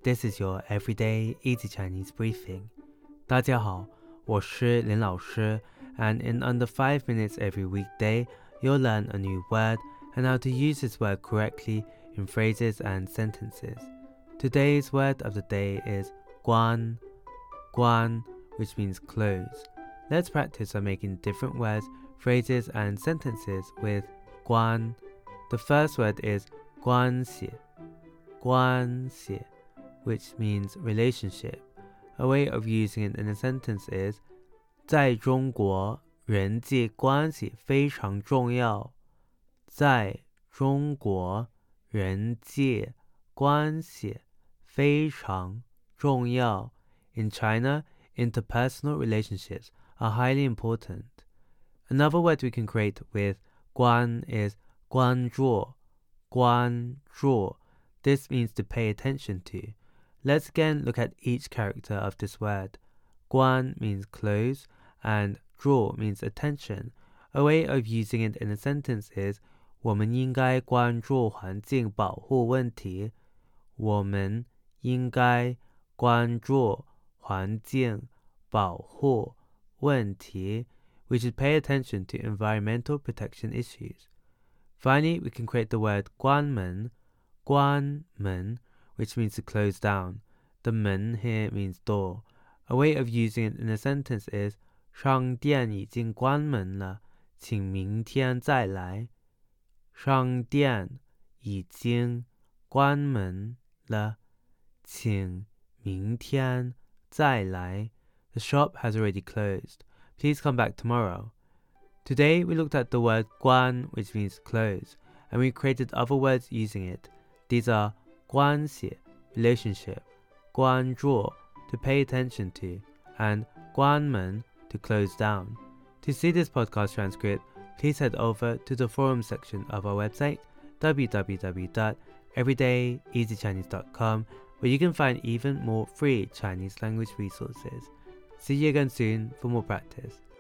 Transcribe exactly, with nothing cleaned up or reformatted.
This is your everyday easy Chinese briefing. 大家好，我是林老师 and in under five minutes every weekday, you'll learn a new word and how to use this word correctly in phrases and sentences. Today's word of the day is guan, guan, which means close. Let's practice by making different words, phrases and sentences with guan. The first word is 关系, 关系, which means relationship. A way of using it in a sentence is 在中国人际关系非常重要。在中国人际关系非常重要。In China, interpersonal relationships are highly important. Another word we can create with 关 is 关注, 关注. This means to pay attention to. Let's again look at each character of this word. 关 means close and 注 means attention. A way of using it in a sentence is 我们应该关注环境保护问题。我们应该关注环境保护问题。We should pay attention to environmental protection issues. Finally, we can create the word 关门, 关门, which means to close down. The 门 here means door. A way of using it in a sentence is 商店已经关门了，请明天再来。商店已经关门了，请明天再来。The shop has already closed. Please come back tomorrow. Today we looked at the word 关, which means close, and we created other words using it. These are 关系, relationship, 关注, to pay attention to, and 关门, to close down. To see this podcast transcript, please head over to the forum section of our website, w w w dot everyday easy chinese dot com, where you can find even more free Chinese language resources. See you again soon for more practice.